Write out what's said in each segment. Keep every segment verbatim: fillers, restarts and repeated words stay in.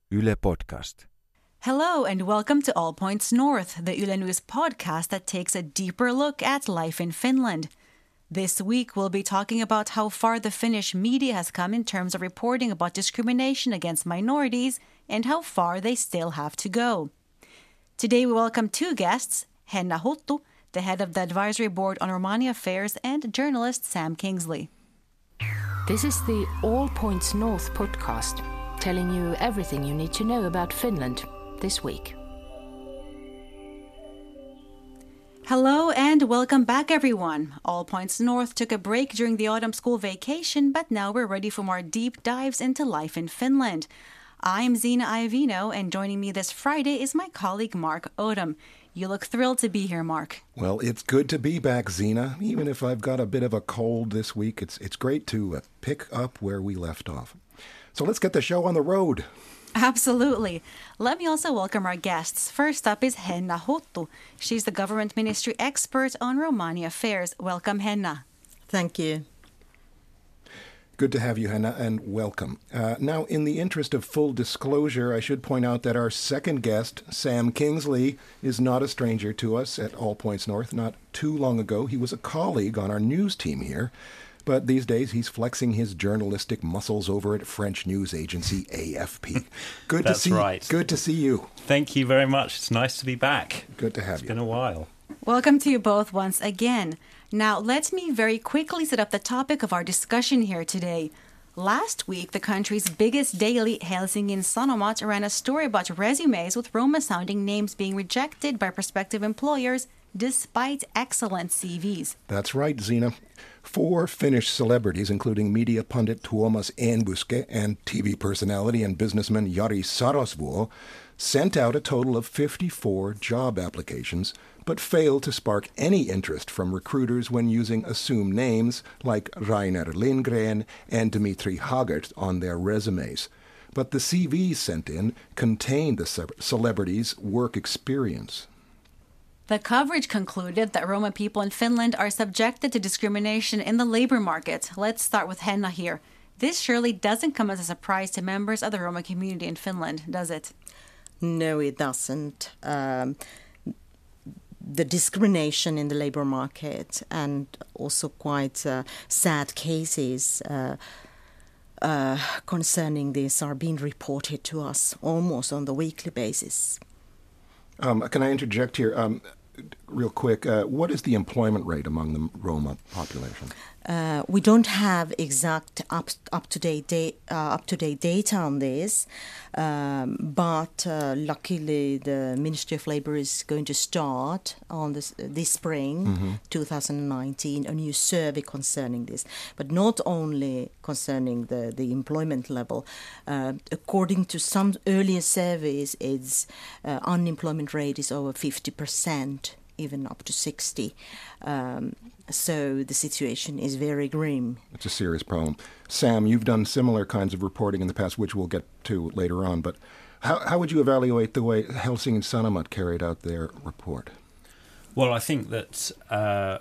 Yle Podcast. Hello and welcome to All Points North, the Yle News podcast that takes a deeper look at life in Finland. This week we'll be talking about how far the Finnish media has come in terms of reporting about discrimination against minorities and how far they still have to go. Today we welcome two guests, Henna Huttu, the head of the Advisory Board on Romania Affairs, and journalist Sam Kingsley. This is the All Points North podcast, telling you everything you need to know about Finland this week. Hello and welcome back, everyone. All Points North took a break during the autumn school vacation, but now we're ready for more deep dives into life in Finland. I'm Zena Iovino, and joining me this Friday is my colleague Mark Odom. You look thrilled to be here, Mark. Well, it's good to be back, Zena. Even if I've got a bit of a cold this week, it's it's great to uh, pick up where we left off. So let's get the show on the road. Absolutely. Let me also welcome our guests. First up is Henna Huttu. She's the government ministry expert on Romania affairs. Welcome, Henna. Thank you. Good to have you, Henna, and welcome. Uh, now, in the interest of full disclosure, I should point out that our second guest, Sam Kingsley, is not a stranger to us at All Points North. Not too long ago, he was a colleague on our news team here. But these days, he's flexing his journalistic muscles over at French news agency A F P. Good That's to see right. Good to see you. Thank you very much. It's nice to be back. Good to have it's you. It's been a while. Welcome to you both once again. Now, let me very quickly set up the topic of our discussion here today. Last week, the country's biggest daily, Helsingin Sanomat, ran a story about resumes with Roma-sounding names being rejected by prospective employers despite excellent C Vs. That's right, Zena. Four Finnish celebrities, including media pundit Tuomas Enbuske and T V personality and businessman Jari Sarasvuo, sent out a total of fifty-four job applications, but failed to spark any interest from recruiters when using assumed names like Rainer Lindgren and Dmitry Hagert on their resumes. But the C Vs sent in contained the ce- celebrities' work experience. The coverage concluded that Roma people in Finland are subjected to discrimination in the labor market. Let's start with Henna here. This surely doesn't come as a surprise to members of the Roma community in Finland, does it? No, it doesn't. Um, the discrimination in the labor market and also quite uh, sad cases uh, uh, concerning this are being reported to us almost on the weekly basis. Um, can I interject here? Um, real quick, uh, what is the employment rate among the Roma population? Uh, we don't have exact up up to date da- uh, up to date data on this, um, but uh, luckily the Ministry of Labour is going to start on this this spring, mm-hmm. twenty nineteen, a new survey concerning this. But not only concerning the the employment level. Uh, according to some earlier surveys, its uh, unemployment rate is over fifty percent. Even up to sixty. Um, so the situation is very grim. It's a serious problem. Sam, you've done similar kinds of reporting in the past, which we'll get to later on. But how, how would you evaluate the way Helsingin Sanomat carried out their report? Well, I think that uh,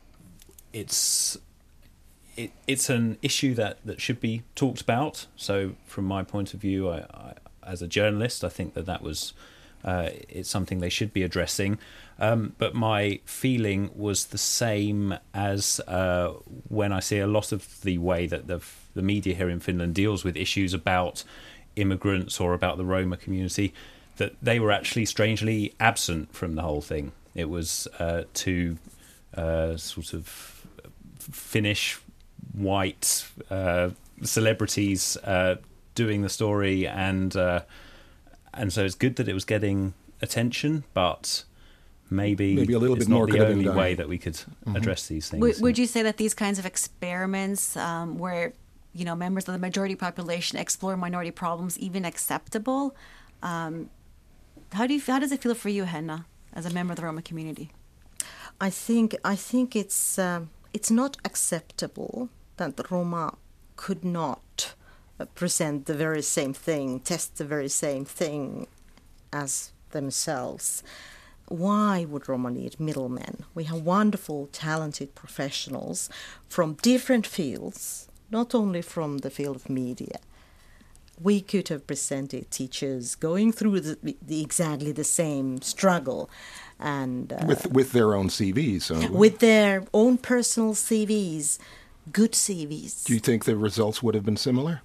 it's it, it's an issue that, that should be talked about. So from my point of view, I, I, as a journalist, I think that that was uh, it's something they should be addressing. Um, but my feeling was the same as uh, when I see a lot of the way that the, the media here in Finland deals with issues about immigrants or about the Roma community, that they were actually strangely absent from the whole thing. It was uh, two uh, sort of Finnish white uh, celebrities uh, doing the story, and uh, and so it's good that it was getting attention, but maybe, maybe a little it's bit not more the could only have been way done. that we could Mm-hmm. address these things. Would, would you say that these kinds of experiments um, where, you know, members of the majority population explore minority problems even acceptable? Um, how do you how does it feel for you, Henna, as a member of the Roma community? I think I think it's um, it's not acceptable that the Roma could not uh, present the very same thing, test the very same thing as themselves. Why would Roma need middlemen? We have wonderful, talented professionals from different fields, not only from the field of media, we could have presented teachers going through the, the exactly the same struggle, and uh, with with their own C Vs, so. with their own personal C Vs, good C Vs. Do you think the results would have been similar?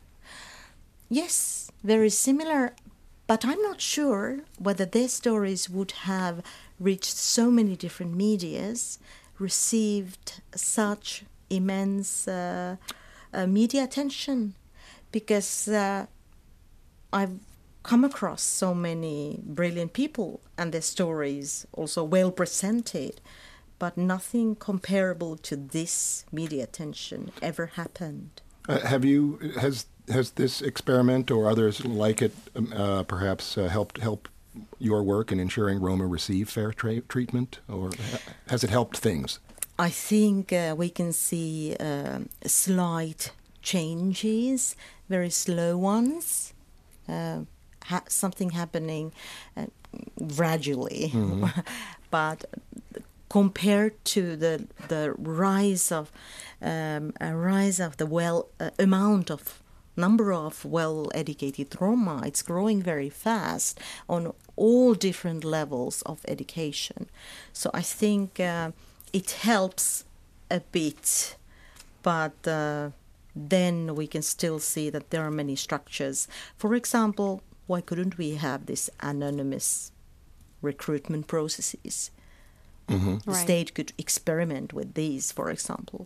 Yes, very similar, but I'm not sure whether their stories would have reached so many different medias, received such immense uh, uh, media attention, because uh, I've come across so many brilliant people and their stories also well presented, but nothing comparable to this media attention ever happened. Uh, have you has has this experiment or others like it um, uh, perhaps uh, helped help your work in ensuring Roma receive fair tra- treatment, or ha- has it helped things? I think uh, we can see uh, slight changes, very slow ones, uh, ha- something happening uh, gradually, mm-hmm. But compared to the the rise of um, a rise of the well uh, amount of number of well-educated Roma, it's growing very fast on all different levels of education. So I think uh, it helps a bit, but uh, then we can still see that there are many structures. For example, why couldn't we have this anonymous recruitment processes? Mm-hmm. The Right. state could experiment with these, for example.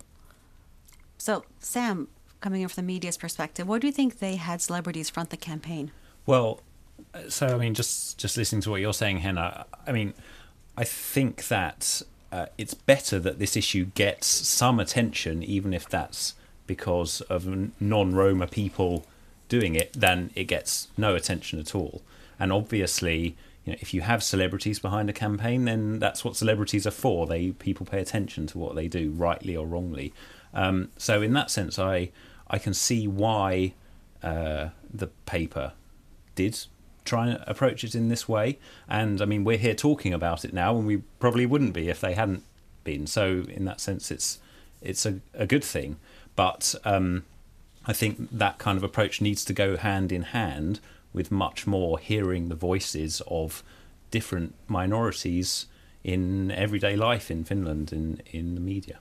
So, Sam, coming in from the media's perspective, what do you think they had celebrities front the campaign? Well, so I mean, just just listening to what you're saying, Henna, I mean, I think that uh, it's better that this issue gets some attention, even if that's because of non-Roma people doing it, than it gets no attention at all. And obviously, you know, if you have celebrities behind a campaign, then that's what celebrities are for. They people pay attention to what they do, rightly or wrongly. Um, so in that sense, I I can see why uh, the paper did try and approach it in this way. And I mean, we're here talking about it now, and we probably wouldn't be if they hadn't been. So in that sense, it's it's a, a good thing. But um, I think that kind of approach needs to go hand in hand with much more hearing the voices of different minorities in everyday life in Finland, in, in the media.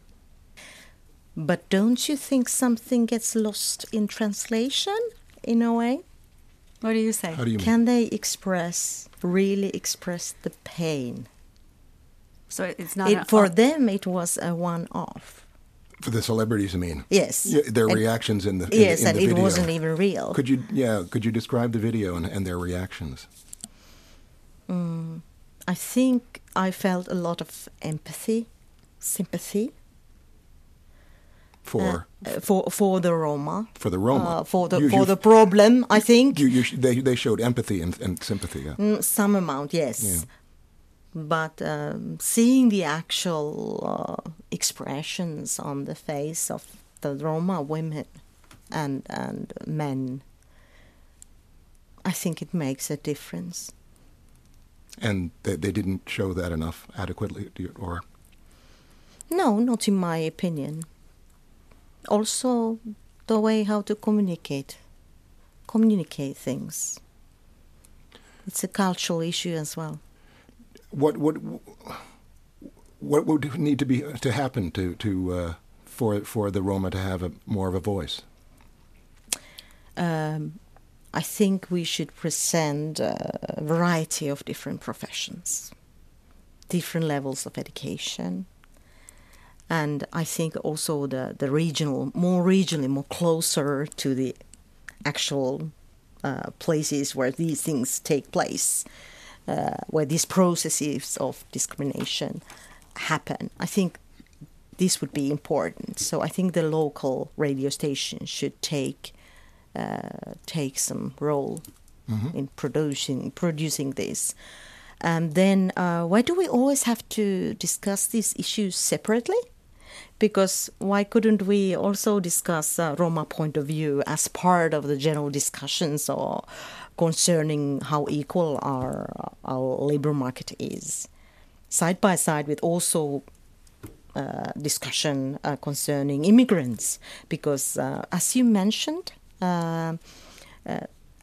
But don't you think something gets lost in translation, in a way? What do you say? How do you mean? Can they express, really express the pain? So it's not It, a- for oh, them, it was a one-off. For the celebrities, I mean. Yes. Yeah, their And- reactions in the in yes, the, in and the it video. wasn't even real. Could you, yeah, could you describe the video and, and their reactions? Mm, I think I felt a lot of empathy, sympathy For uh, for for the Roma, for the Roma. uh, for the You- for you- the problem. I think You, you, sh- they they showed empathy and, and sympathy. Yeah. Mm, some amount, yes. Yeah. But um, seeing the actual uh, expressions on the face of the Roma women and and men, I think it makes a difference. And they, they didn't show that enough adequately, do you, or No, not in my opinion. Also, the way how to communicate, communicate things. It's a cultural issue as well. what what what would need to be to happen to to uh, for for the Roma to have a more of a voice? Um, I think we should present a variety of different professions, different levels of education, and I think also the, the regional, more regionally, more closer to the actual uh, places where these things take place, uh, where these processes of discrimination happen. I think this would be important. So I think the local radio station should take uh, take some role Mm-hmm. in producing producing this. And then uh, why do we always have to discuss these issues separately? Because why couldn't we also discuss uh, Roma point of view as part of the general discussions or concerning how equal our our labor market is, side by side with also uh, discussion uh, concerning immigrants? Because uh, as you mentioned, uh, uh,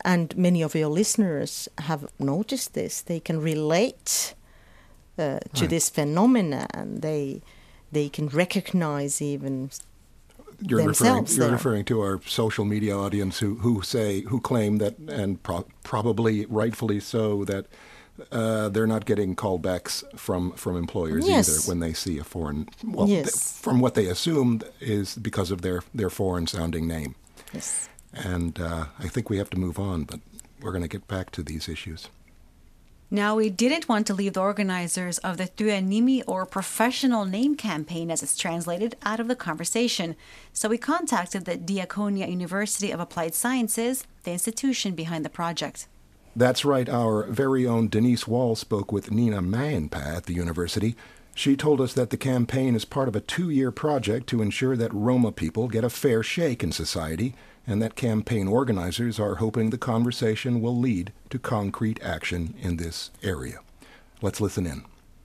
and many of your listeners have noticed this. They can relate uh, to right. this phenomena, and they they can recognize even you're referring, themselves. you're there. referring to our social media audience who, who say who claim that, and pro- probably rightfully so, that uh, they're not getting callbacks from, from employers Yes. either when they see a foreign. Well, Yes. th- from what they assume is because of their, their foreign sounding name. Yes. And uh, I think we have to move on, but we're going to get back to these issues. Now, we didn't want to leave the organizers of the Työnimi, or professional name campaign as it's translated, out of the conversation. So we contacted the Diakonia University of Applied Sciences, the institution behind the project. That's right. Our very own Denise Wall spoke with Nina Mäenpää at the university. She told us that the campaign is part of a two-year project to ensure that Roma people get a fair shake in society, and that campaign organizers are hoping the conversation will lead to concrete action in this area. Let's listen in.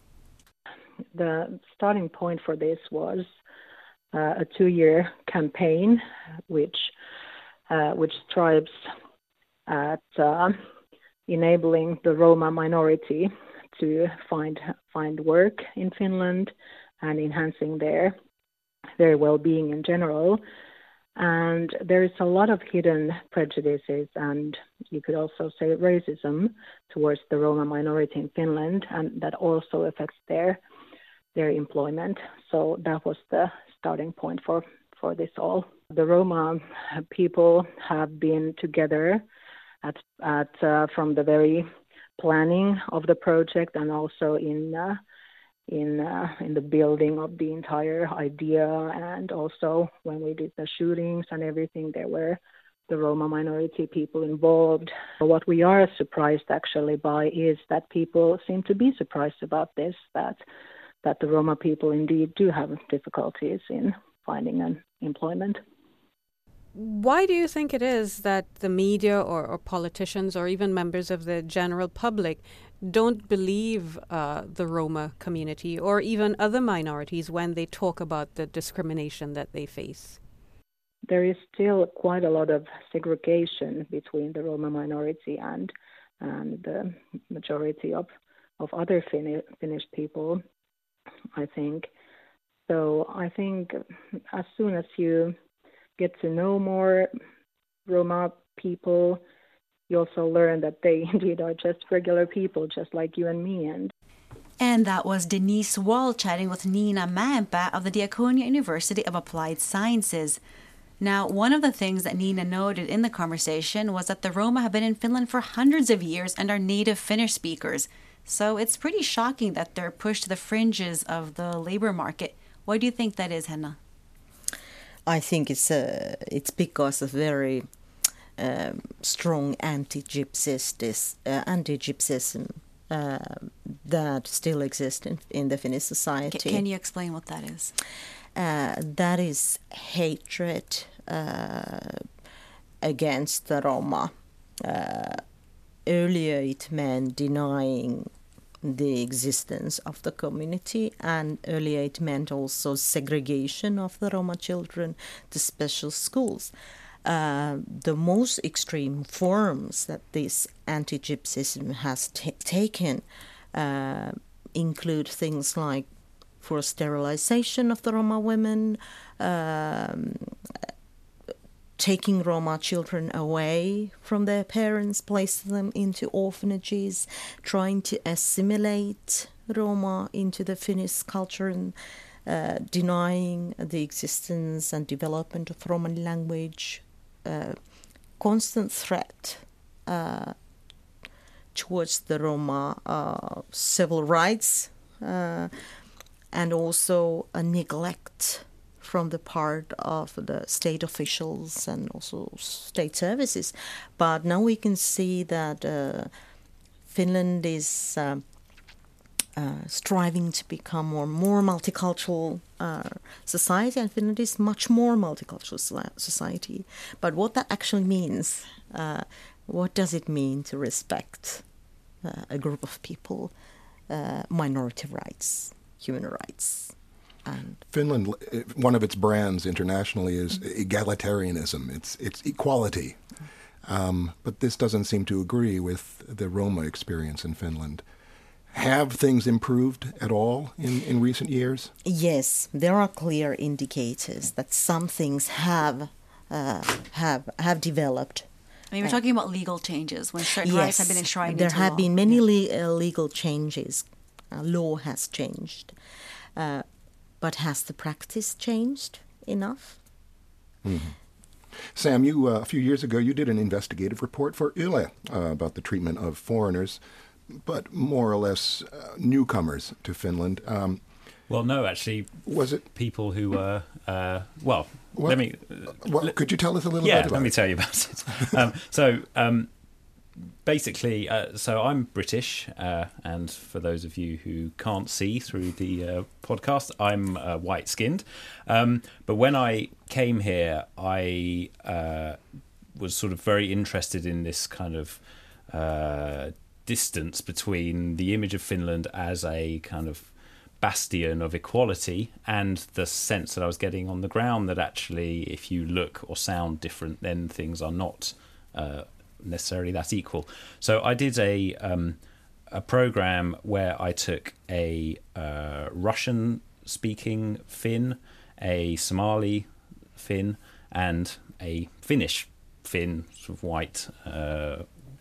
The starting point for this was uh, a two-year campaign, which uh, which strives at uh, enabling the Roma minority to find find work in Finland and enhancing their their well-being in general. And there is a lot of hidden prejudices, and you could also say racism towards the Roma minority in Finland, and that also affects their their employment. So that was the starting point for, for this all. The Roma people have been together at at uh, from the very planning of the project, and also in uh, in uh, in the building of the entire idea, and also when we did the shootings and everything, there were the Roma minority people involved. What we are surprised actually by is that people seem to be surprised about this, that that the Roma people indeed do have difficulties in finding an employment. Why do you think it is that the media or, or politicians or even members of the general public don't believe uh, the Roma community or even other minorities when they talk about the discrimination that they face? There is still quite a lot of segregation between the Roma minority and and the majority of, of other Fin- Finnish people, I think. So I think as soon as you get to know more Roma people, you also learn that they indeed are just regular people, just like you and me. And And that was Denise Wall chatting with Nina Mäenpää of the Diakonia University of Applied Sciences. Now, one of the things that Nina noted in the conversation was that the Roma have been in Finland for hundreds of years and are native Finnish speakers. So it's pretty shocking that they're pushed to the fringes of the labor market. Why do you think that is, Henna? I think it's uh, it's because of very um, strong anti-gypsism, uh, anti-gypsism uh, that still exists in, in the Finnish society. C- can you explain what that is? Uh, that is hatred uh, against the Roma. Uh, earlier it meant denying the existence of the community, and earlier it meant also segregation of the Roma children to special schools. Uh, the most extreme forms that this anti-gypsism has t- taken uh, include things like forced sterilization of the Roma women, um, taking Roma children away from their parents, placing them into orphanages, trying to assimilate Roma into the Finnish culture, and uh, denying the existence and development of Roman language. Uh, constant threat uh, towards the Roma uh, civil rights, uh, and also a neglect from the part of the state officials and also state services. But now we can see that uh, Finland is uh, uh, striving to become more more multicultural uh, society, and Finland is much more multicultural society. But what that actually means, uh, what does it mean to respect uh, a group of people, uh, minority rights, human rights? And Finland, one of its brands internationally is egalitarianism. It's it's equality. Um, but this doesn't seem to agree with the Roma experience in Finland. Have things improved at all in, in recent years? Yes, there are clear indicators that some things have uh, have have developed. I mean, we're talking about legal changes when certain yes, rights have been enshrined there into have law. been many Yeah. le- uh, legal changes. Uh, law has changed. Uh, but has the practice changed enough? Mm-hmm. Sam, you uh, a few years ago, you did an investigative report for Yle uh, about the treatment of foreigners, but more or less uh, newcomers to Finland. Um, Well, no, actually, was it people who were uh, well? What? Let me. Well, could you tell us a little Yeah, bit about let me it? tell you about it. um, so, um, basically, uh, so I'm British, uh, and for those of you who can't see through the uh, podcast, I'm uh, white-skinned. Um, but when I came here, I uh, was sort of very interested in this kind of uh, distance between the image of Finland as a kind of bastion of equality and the sense that I was getting on the ground that actually if you look or sound different, then things are not uh, necessarily that equal. So I did a um, a program where I took a uh, Russian speaking Finn, a Somali Finn, and a Finnish Finn, sort of white uh,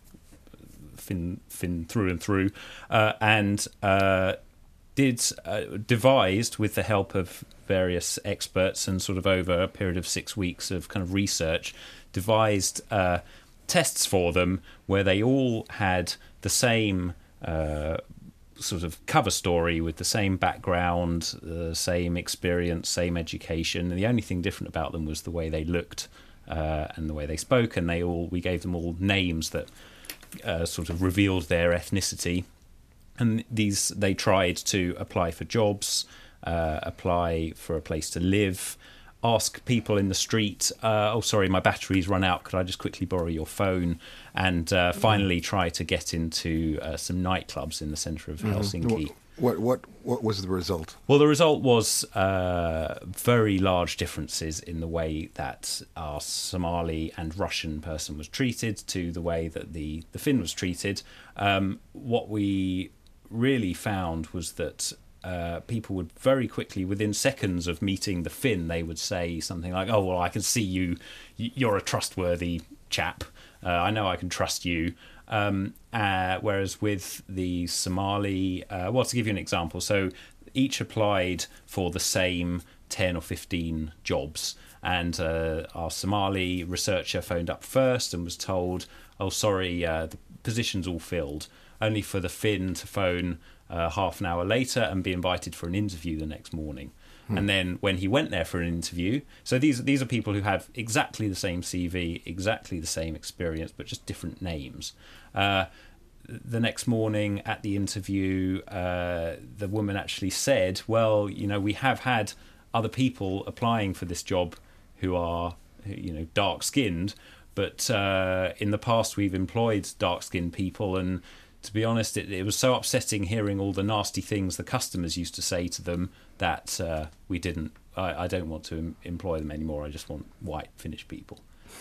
Finn, Finn through and through, uh, and uh, did uh, devised with the help of various experts and sort of over a period of six weeks of kind of research, devised uh, tests for them where they all had the same uh, sort of cover story with the same background, the same experience, same education, and the only thing different about them was the way they looked uh, and the way they spoke. And they all we gave them all names that uh, sort of revealed their ethnicity. And these they tried to apply for jobs, uh, apply for a place to live, ask people in the street, uh, oh, sorry, my battery's run out, could I just quickly borrow your phone? And uh, finally try to get into uh, some nightclubs in the centre of Helsinki. What, what, what was the result? Well, the result was uh, very large differences in the way that our Somali and Russian person was treated to the way that the, the Finn was treated. Um, what we really found was that uh, people would very quickly, within seconds of meeting the Finn, they would say something like, oh, well, I can see you, you're a trustworthy chap. Uh, I know I can trust you. Um, uh, whereas with the Somali, uh, well, to give you an example, so each applied for the same ten or fifteen jobs. And uh, our Somali researcher phoned up first and was told, oh, sorry, uh, the position's all filled, only for the Finn to phone uh, half an hour later and be invited for an interview the next morning. Hmm. And then when he went there for an interview, so these, these are people who have exactly the same C V, exactly the same experience, but just different names. Uh, the next morning at the interview, uh, the woman actually said, well, you know, we have had other people applying for this job who are, you know, dark-skinned, but uh, in the past we've employed dark-skinned people, and to be honest, it, it was so upsetting hearing all the nasty things the customers used to say to them that uh, we didn't, I, I don't want to em- employ them anymore, I just want white Finnish people.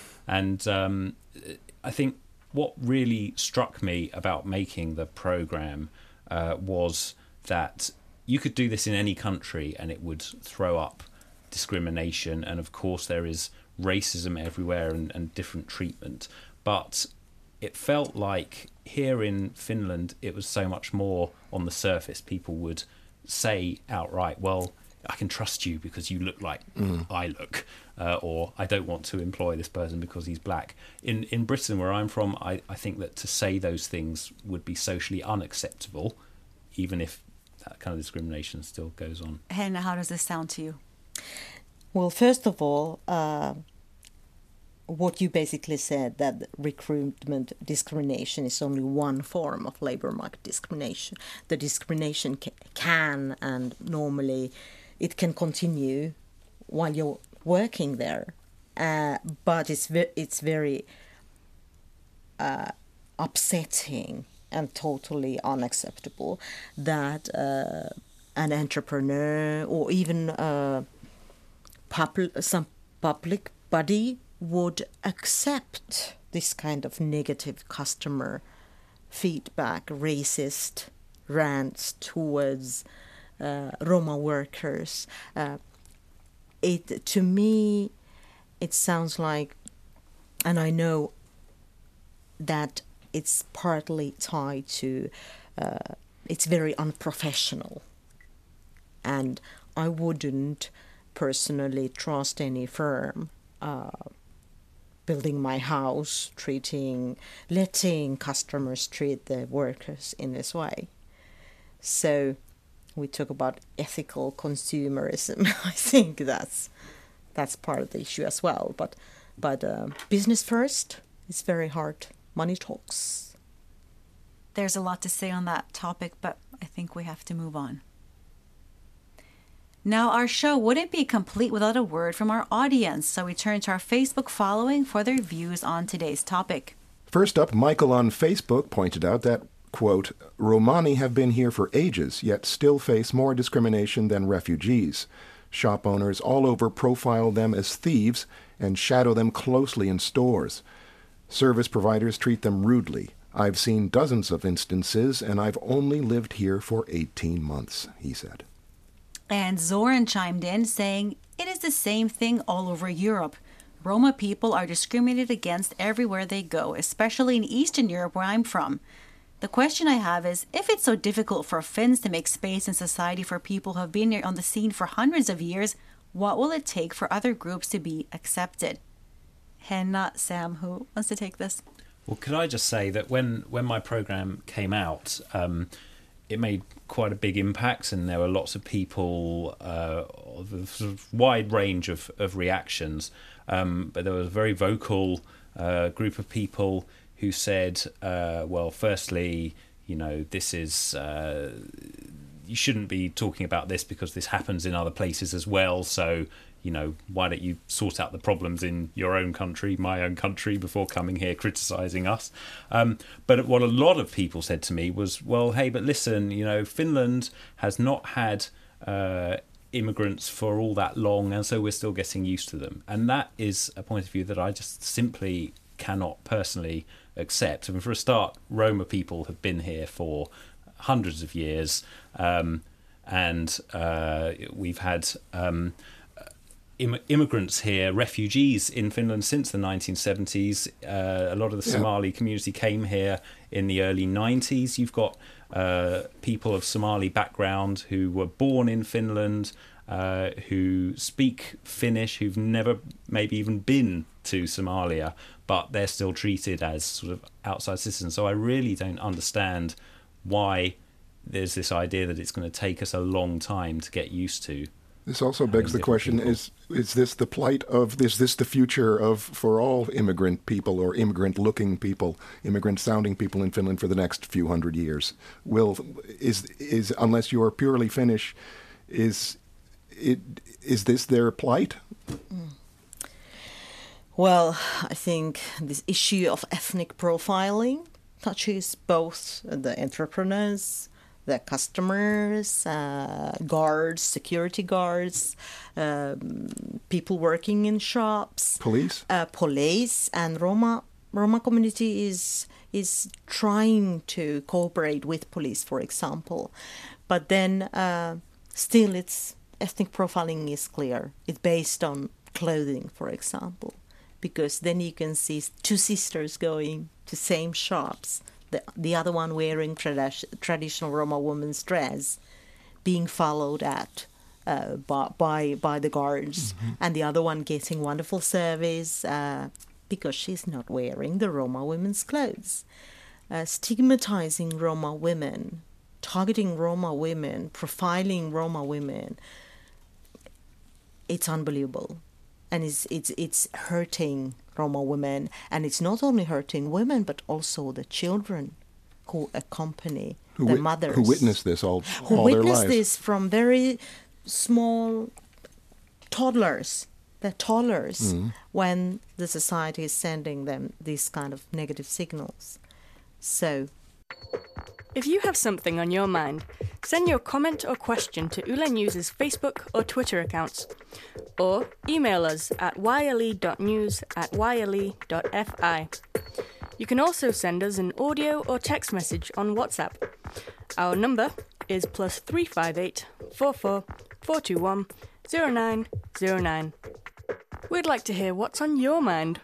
And um, I think what really struck me about making the programme uh, was that you could do this in any country and it would throw up discrimination, and of course there is racism everywhere and, and different treatment, but it felt like here in Finland it was so much more on the surface. People would say outright, well, I can trust you because you look like mm. I look, uh, or I don't want to employ this person because he's black. In in Britain, where I'm from, I, I think that to say those things would be socially unacceptable, even if that kind of discrimination still goes on. Henna, how does this sound to you? Well, first of all, uh, what you basically said, that recruitment discrimination is only one form of labour market discrimination. The discrimination ca- can and normally it can continue while you're working there, uh, but it's ve- it's very uh, upsetting and totally unacceptable that uh, an entrepreneur or even uh, pub- some public body would accept this kind of negative customer feedback, racist rants towards uh, Roma workers. Uh, it to me, it sounds like, and I know that it's partly tied to, uh, it's very unprofessional, and I wouldn't personally trust any firm uh, building my house, treating, letting customers treat the workers in this way. So we talk about ethical consumerism. I think that's that's part of the issue as well. But but uh, business first, it's very hard. Money talks. There's a lot to say on that topic, but I think we have to move on. Now, our show wouldn't be complete without a word from our audience, so we turn to our Facebook following for their views on today's topic. First up, Michael on Facebook pointed out that, quote, Romani have been here for ages, yet still face more discrimination than refugees. Shop owners all over profile them as thieves and shadow them closely in stores. Service providers treat them rudely. I've seen dozens of instances, and I've only lived here for eighteen months, he said. And Zoran chimed in saying, it is the same thing all over Europe. Roma people are discriminated against everywhere they go, especially in Eastern Europe where I'm from. The question I have is, if it's so difficult for Finns to make space in society for people who have been here on the scene for hundreds of years, what will it take for other groups to be accepted? Henna, Sam, who wants to take this? Well, could I just say that when, when my programme came out, um, it made quite a big impact, and there were lots of people uh, of a sort of wide range of, of reactions. Um, but there was a very vocal uh, group of people who said, uh, well, firstly, you know, this is, uh, you shouldn't be talking about this because this happens in other places as well. So, you know, why don't you sort out the problems in your own country, my own country, before coming here criticising us? Um, but what a lot of people said to me was, well, hey, but listen, you know, Finland has not had uh, immigrants for all that long, and so we're still getting used to them. And that is a point of view that I just simply cannot personally accept. I mean, for a start, Roma people have been here for hundreds of years, um, and uh, we've had um, im- immigrants here, refugees in Finland since the nineteen seventies. Uh, a lot of the yeah. Somali community came here in the early nineties. You've got uh, people of Somali background who were born in Finland, uh, who speak Finnish, who've never maybe even been to Somalia, but they're still treated as sort of outside citizens. So I really don't understand why there's this idea that it's going to take us a long time to get used to. This also begs the question, people. is is this the plight of, is this the future of, for all immigrant people or immigrant-looking people, immigrant-sounding people in Finland for the next few hundred years? Will, is, is unless you're purely Finnish, is, it, is this their plight? Mm. Well, I think this issue of ethnic profiling touches both the entrepreneurs, the customers, uh, guards, security guards, um, people working in shops, police, uh, police, and Roma. Roma community is is trying to cooperate with police, for example, but then uh, still, it's ethnic profiling is clear. It's based on clothing, for example, because then you can see two sisters going to same shops. The, the other one wearing trad- traditional Roma woman's dress, being followed at uh, by, by by the guards, mm-hmm. and the other one getting wonderful service uh, because she's not wearing the Roma women's clothes. Uh, stigmatizing Roma women, targeting Roma women, profiling Roma women. It's unbelievable, and it's it's it's hurting Roma women, and it's not only hurting women but also the children who accompany who the wit- mothers who witness this all, who all witness their lives. this from very small toddlers, the toddlers, mm-hmm. when the society is sending them these kind of negative signals. So, if you have something on your mind, Send your comment or question to Yle News' Facebook or Twitter accounts, or email us at yle.news at yle.fi. You can also send us an audio or text message on WhatsApp. Our number is plus three five eight, four four, four two one, zero nine zero nine. We'd like to hear what's on your mind.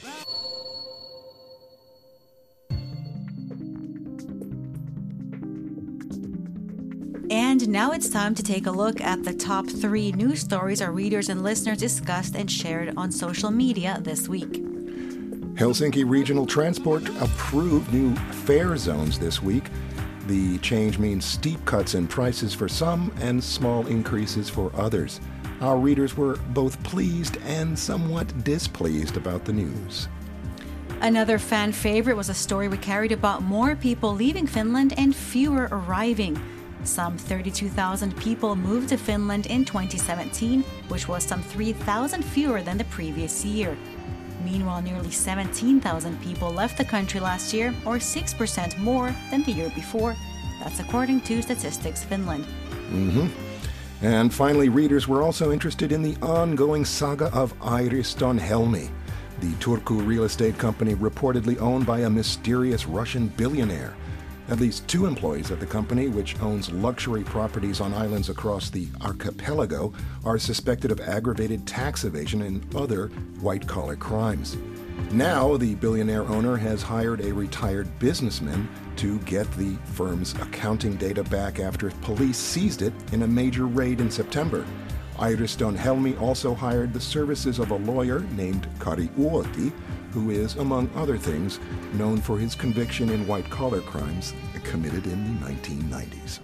And now it's time to take a look at the top three news stories our readers and listeners discussed and shared on social media this week. Helsinki Regional Transport approved new fare zones this week. The change means steep cuts in prices for some and small increases for others. Our readers were both pleased and somewhat displeased about the news. Another fan favorite was a story we carried about more people leaving Finland and fewer arriving. Some thirty-two thousand people moved to Finland in twenty seventeen, which was some three thousand fewer than the previous year. Meanwhile, nearly seventeen thousand people left the country last year, or six percent more than the year before. That's according to Statistics Finland. Mm-hmm. And finally, readers were also interested in the ongoing saga of Airiston Helmi, the Turku real estate company reportedly owned by a mysterious Russian billionaire. At least two employees at the company, which owns luxury properties on islands across the archipelago, are suspected of aggravated tax evasion and other white-collar crimes. Now, the billionaire owner has hired a retired businessman to get the firm's accounting data back after police seized it in a major raid in September. Airiston Helmi also hired the services of a lawyer named Kari Uoti, who is, among other things, known for his conviction in white-collar crimes committed in the nineteen nineties.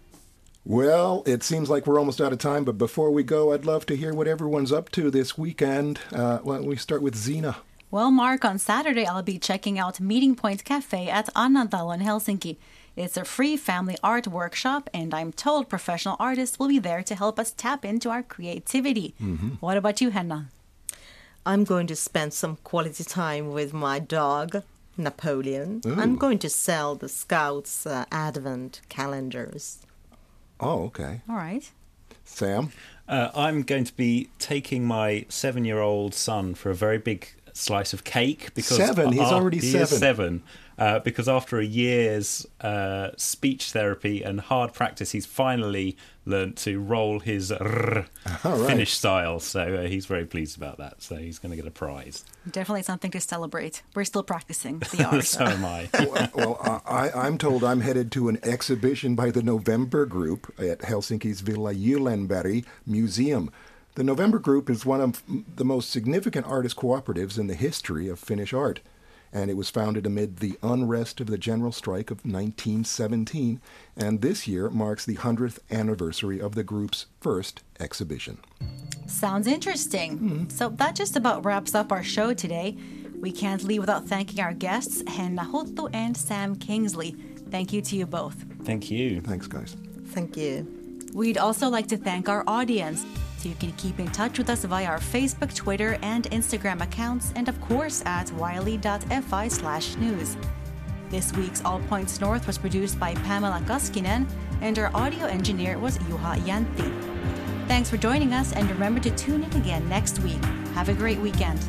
Well, it seems like we're almost out of time, but before we go, I'd love to hear what everyone's up to this weekend. Uh, why don't we start with Zena? Well, Mark, on Saturday I'll be checking out Meeting Point Cafe at Annantalo in Helsinki. It's a free family art workshop, and I'm told professional artists will be there to help us tap into our creativity. Mm-hmm. What about you, Henna? I'm going to spend some quality time with my dog, Napoleon. Ooh. I'm going to sell the Scouts' uh, Advent calendars. Oh, okay. All right. Sam? Uh, I'm going to be taking my seven-year-old son for a very big slice of cake. Because seven? He's uh, already he seven. Is seven. Uh, because after a year's uh, speech therapy and hard practice, he's finally learned to roll his r right. Finnish style. So uh, he's very pleased about that. So he's going to get a prize. Definitely something to celebrate. We're still practicing the art. So am I. well, well uh, I, I'm told I'm headed to an exhibition by the November Group at Helsinki's Villa Gyllenberg Museum. The November Group is one of the most significant artist cooperatives in the history of Finnish art, and it was founded amid the unrest of the general strike of nineteen seventeen, and this year marks the hundredth anniversary of the group's first exhibition. Sounds interesting. Mm-hmm. So that just about wraps up our show today. We can't leave without thanking our guests, Henna Huttu and Sam Kingsley. Thank you to you both. Thank you. Thanks, guys. Thank you. We'd also like to thank our audience. So you can keep in touch with us via our Facebook, Twitter, and Instagram accounts, and of course at yle.fi slash news. This week's All Points North was produced by Pamela Kaskinen, and our audio engineer was Juha Jäntti. Thanks for joining us, and remember to tune in again next week. Have a great weekend.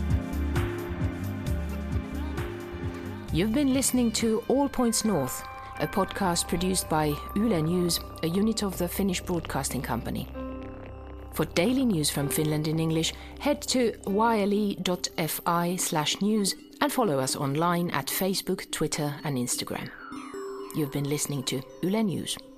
You've been listening to All Points North, a podcast produced by Yle News, a unit of the Finnish Broadcasting Company. For daily news from Finland in English, head to yle.fi slash news and follow us online at Facebook, Twitter and Instagram. You've been listening to Yle News.